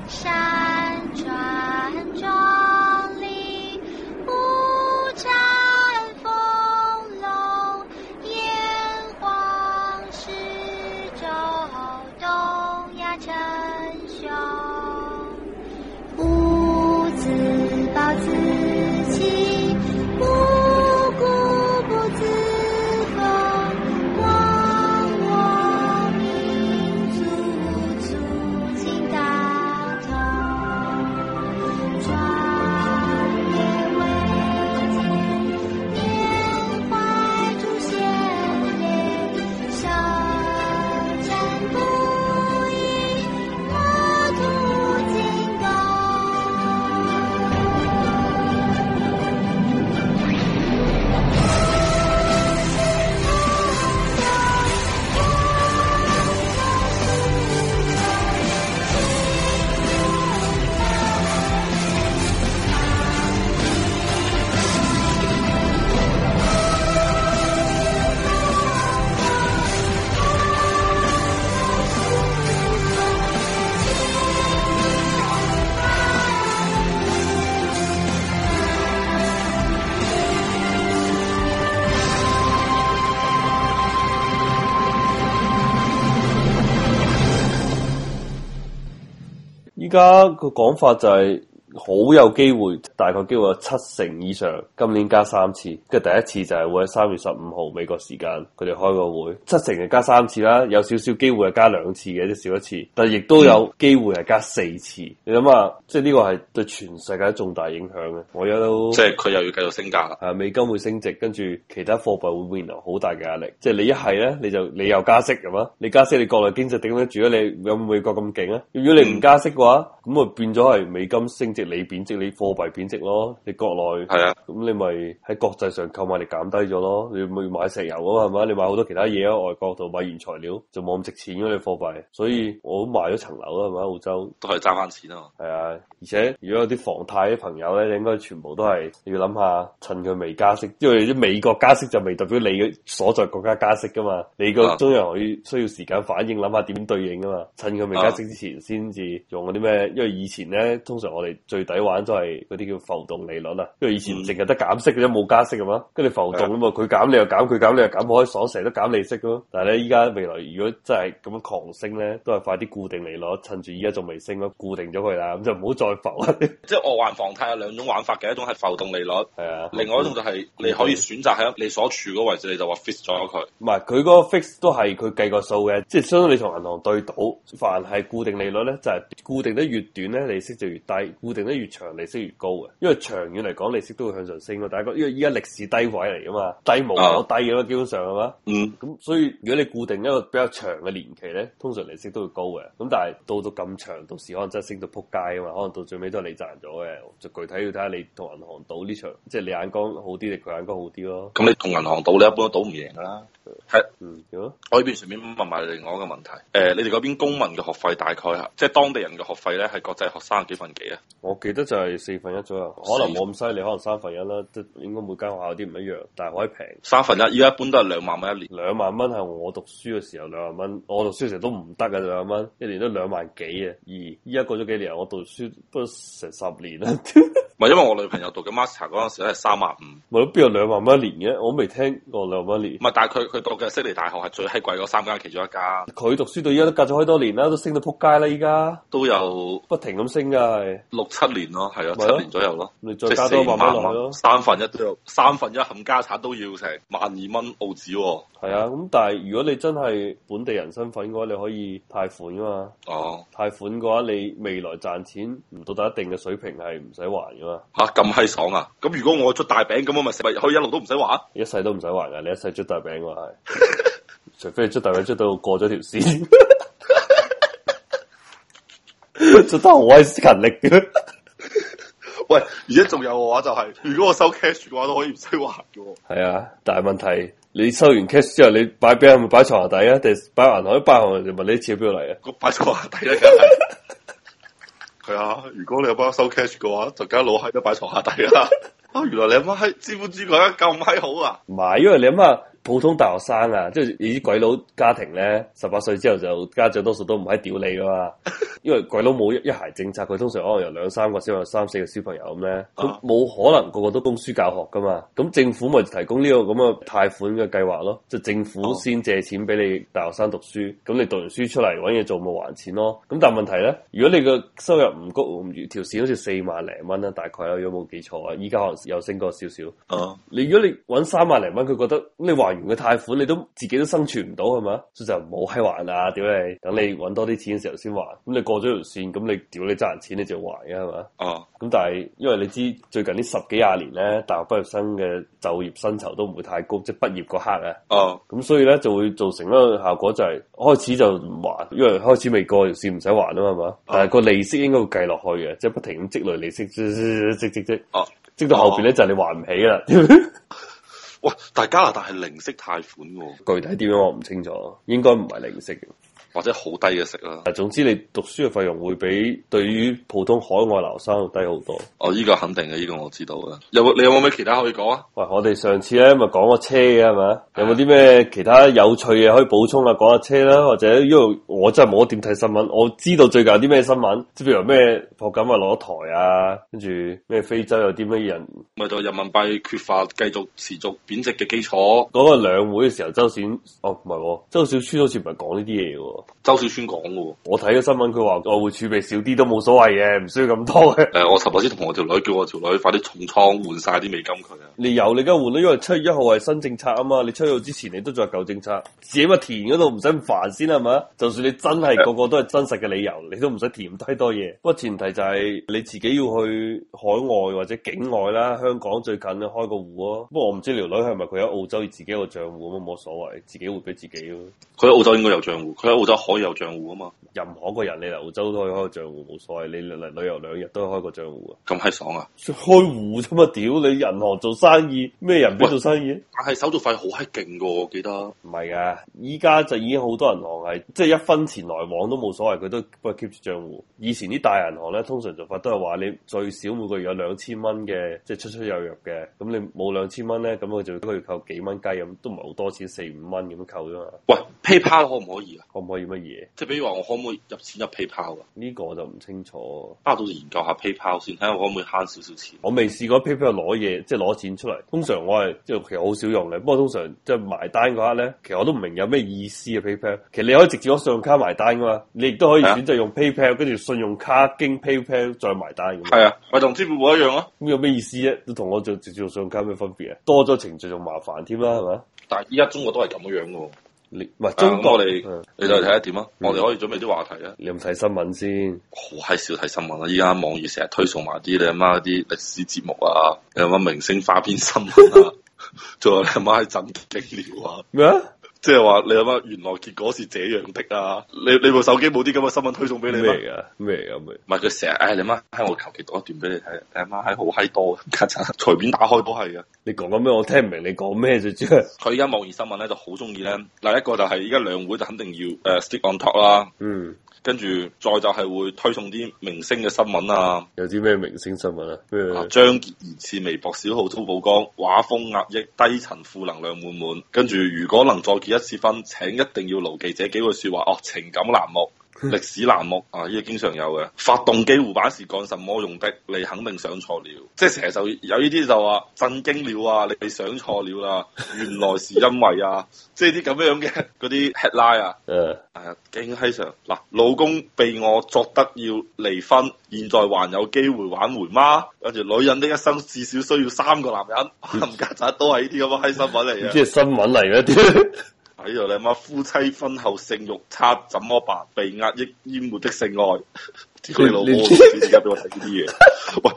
山川壮丽，五展丰隆，炎黄始周，东亚称雄。吾自暴自弃，无故不自封。忘我民族，促进大同。壮烈维艰，缅怀祖先烈，舌战不已，国土进攻。 依家個講法就係好有機會，大概機會有70%以上，今年加3次。跟住第一次就係會喺3月15號美國時間，佢哋開個會，70%係加3次啦，有少少機會係加2次嘅，即少一次，但係亦都有機會係加4次。你諗下，即係呢個係對全世界重大影響嘅。我而家都即係佢又要繼續升價啦。 係美金會升值，跟住其他貨幣會面臨好大嘅壓力。即係你一係咧，你又加息係嘛？你加息，你國內經濟頂得住啊？你有美國咁勁啊？如果你唔加息嘅話，咁啊變咗係美金升值，你貶值，你貨幣貶值咯。你國內係啊， 咁你咪喺國際上購買力減低咗咯。你咪買石油啊嘛，係嘛？你買好多其他嘢啊，外國度買原材料就冇咁值錢咯，你貨幣。所以我都賣咗層樓啦，係咪？澳洲都係賺翻錢啊嘛。 係啊，而且如果有啲房貸啲朋友咧，應該全部都係要諗下，趁佢未加息，因為啲美國加息就未代表你嘅所在國家加息噶嘛。你個中央可以需要時間反應，諗下點對應啊嘛。趁佢未加息之前，先至用嗰啲咩？因為以前咧，通常我哋最抵玩都係嗰啲叫浮動利率啊。因為以前淨係得減息嘅啫，冇加息嘅嘛。跟住浮動啊嘛，佢減你又減，佢減你又減，可以爽成日都減利息咯。但係咧，依家未來如果真係咁樣狂升咧，都係快啲固定利率，趁住依家仲未升咯，固定咗佢啦，咁就唔好再浮啊。 即係我還房貸有兩種玩法嘅，一種係浮動利率， 係啊， 另外一種就係你可以選擇喺你所處嗰位置，你就話 fix 咗佢。 唔係佢嗰個 fix 都係佢計個數嘅，即係相當你同銀行對賭，凡係固定利率咧，就係固定得越短咧，利息就越低；固定得越長，利息越高嘅。因為長遠嚟講，利息都會向上升咯。大家因為依家歷史低位嚟噶嘛，低無可低嘅咯，基本上係嘛。咁所以如果你固定一個比較長嘅年期咧，通常利息都會高嘅。咁但係到咁長，到時可能真係升到撲街啊嘛，可能到最尾都係你賺咗嘅。就具體要睇下你同銀行賭呢場，即係你眼光好啲定佢眼光好啲咯。 咁你同銀行賭，你一般都賭唔贏噶啦。係， 如果我呢邊順便問埋另外一個問題，你哋嗰邊公民嘅學費大概係，即係當地人嘅學費咧，係國際學生幾分幾啊？ 我記得就係4分1左右，可能冇咁犀利，可能1/3啦，即係應該每間學校有啲唔一樣，但係可以平。 1/3，依家一般都係2萬蚊一年。 2萬蚊係我讀書嘅時候2萬蚊，我讀書嘅時候都唔得嘅2萬蚊，一年都2萬幾啊！而依家過咗幾年，我讀書都成10年啦。 唔係因為我女朋友讀嘅 master 嗰陣時咧係35000， 咪都邊有2萬蚊一年嘅？我未聽過2萬蚊一年。 唔係，但係佢讀嘅悉尼大學係最閪貴嗰3間其中一間。 佢讀書到依家都隔咗好多年啦，都升到撲街啦！依家都有不停咁升噶，係 6-7年咯，係啊，7年左右咯。 你再加多1萬蚊落去咯 ，1/3都有1/3冚家產都要成12,000蚊澳紙喎。 係啊，咁但係如果你真係本地人身份嘅話，你可以貸款噶嘛。 哦， 貸款嘅話，你未來賺錢唔到達一定嘅水平係唔使還噶嘛。 吓，咁閪爽啊！咁如果我出大餅，咁我咪可以一路都唔使還？ 一世都唔使還噶，你一世出大餅嘅話係，除非你出大餅出到過咗條線，出得好鬼勤力嘅。 喂，而家仲有嘅話就係、是，如果我收 cash 嘅話，都可以唔使還嘅。係啊，但係問題你收完 cash 之後，你擺邊係咪擺床下底啊？定擺銀行？擺銀行就問你啲錢喺邊度嚟啊？ 我擺床下底啦，梗係。係啊，如果你有包收 cash 嘅話，就梗係老閪都擺床下底啦。啊，原來你阿媽喺資本主義國家咁閪好啊！ 唔係，因為你阿媽普通大學生啊，即係你啲鬼佬家庭咧，18歲之後就家長多數都唔係屌你噶嘛，因為鬼佬冇一孩政策，佢通常可能有2、3個小朋友、3、4個小朋友咁咧，咁冇可能個個都供書教學噶嘛，咁政府咪提供呢個咁嘅貸款嘅計劃咯，即係政府先借錢俾你大學生讀書，咁你讀完書出嚟揾嘢做咪還錢咯，咁但係問題咧，如果你個收入唔高，條線好似4萬零蚊啦，大概啦，如果冇記錯啊，依家可能有升過少少。你如果你揾3萬零蚊，佢覺得你還完嘅貸款，你都自己都生存唔到係嘛？所以就唔好閪還啊！屌你，等你揾多啲錢嘅時候先還。咁你過咗條線，咁你屌你賺人錢你就還嘅係嘛？咁但係因為你知最近呢10幾20年咧，大學畢業生嘅就業薪酬都唔會太高，即係畢業嗰刻啊。咁所以咧就會造成一個效果就係開始就唔還，因為開始未過條線唔使還啊嘛係嘛？但係個利息應該會計落去嘅，即係不停咁積累利息，積到後邊咧就係你還唔起啦。 喂，但係加拿大係零息貸款喎， 具體點樣我唔清楚，應該唔係零息嘅。 或者好低嘅息啦。 總之你讀書嘅費用會比對於普通海外留學生低好多。 依個肯定嘅，呢個我知道嘅。你有冇咩其他可以講啊？ 喂，我哋上次咧咪講過車嘅係咪？有冇啲咩其他有趣嘅可以補充啊？講下車啦，或者因為我真係冇點睇新聞，我知道最近有啲咩新聞，即係譬如咩霍錦啊落台啊，跟住咩非洲有啲乜人， 咪就人民幣缺乏繼續持續貶值嘅基礎。 嗰個兩會嘅時候，周小川好似唔係講呢啲嘢喎。 周小川講嘅， 我睇咗新聞，佢話外匯儲備少啲都冇所謂嘅，唔需要咁多嘅。 我尋日先同我條女叫我條女快啲重倉換晒啲美金佢啊！ 你有你而家換啦，因為7月1號係新政策啊嘛，你7月1號之前你都仲係舊政策，自己咪填嗰度唔使咁煩先係嘛？就算你真係個個都係真實嘅理由，你都唔使填太多嘢。不過前提就係你自己要去海外或者境外啦，香港最近開個戶咯。不過我唔知條女係咪佢喺澳洲自己有個賬戶咁，冇所謂，自己會俾自己咯。 佢喺澳洲應該有賬戶，佢喺澳洲可以有賬戶啊嘛。 任何個人你嚟澳洲都可以開個賬戶，冇所謂。你嚟旅遊2日都可以開個賬戶啊。 咁閪爽啊！ 開戶啫嘛，屌你銀行做生意，咩人俾做生意？ 但係手續費好閪勁噶，我記得。唔係噶，依家就已經好多銀行係即係1分錢來往都冇所謂，佢都幫佢 keep 住賬戶。以前啲大銀行咧，通常做法都係話你最少每個月有2000蚊嘅，即係出入入嘅。咁你冇2000蚊咧，咁佢就一個月扣幾蚊雞咁，都唔係好多錢，4、5蚊咁樣扣啫嘛。 喂，PayPal 可唔可以啊？ 可唔可以乜嘢？ 即係比如話我可唔可以入錢入 PayPal 啊？ 呢個我就唔清楚。 到時研究下 PayPal 先，睇下我可唔可以慳少少錢。 我未試過 PayPal 攞嘢，即係攞錢出嚟。通常我係即係其實好少用嘅，不過通常即係埋單嗰刻咧，其實我都唔明有咩意思啊 PayPal。其實你可以直接攞信用卡埋單噶嘛，你亦都可以選擇用 PayPal 跟住信用卡經 PayPal 再埋單。 係啊，咪同支付寶一樣咯。 咁有咩意思啫？都同我做直接用信用卡有咩分別啊？多咗程序仲麻煩添啦，係咪？ 但係依家中國都係咁樣嘅。 唔係中國， 我哋你就睇下點啊？我哋可以準備啲話題啊！ 你有冇睇新聞先？ 好閪少睇新聞啊！依家網易成日推送埋啲你阿媽啲歷史節目啊，你阿媽明星花邊新聞啊，仲有你阿媽係震驚料啊！ 咩啊？ 即係話你阿媽原來結果是這樣的啊！你部手機冇啲咁嘅新聞推送俾你咩？ 咩嚟噶？ 唔係佢成日，你媽喺我求其讀一段俾你睇，你阿媽喺好閪多，隨便打開都係嘅。 你講緊咩？我聽唔明你講咩啫，主要佢而家網易新聞咧就好中意咧，嗱一個就係而家兩會就肯定要stick on top 啦。跟住再就係會推送啲明星嘅新聞啊。 有啲咩明星新聞啊？ 張傑疑似微博小號遭曝光，畫風壓抑，低層負能量滿滿。跟住如果能再結一次婚，請一定要牢記這幾句說話。情感欄目。歷史欄目啊，呢個經常有嘅。發動機護板是幹什麼用的？你肯定想錯了。即係成日就有呢啲就話震驚了啊！你想錯了啦，原來是因為啊，即係啲咁樣嘅嗰啲 headline 啊。驚閪常嗱，老公被我作得要離婚，現在還有機會挽回嗎？跟住女人的一生至少需要3個男人，冚家鏟都係呢啲咁嘅閪新聞嚟嘅。 即係新聞嚟嘅啲。 喺度你阿媽夫妻婚後性慾差怎麼辦？被壓抑淹沒的性愛，屌你老母！而家俾我睇呢啲嘢。喂，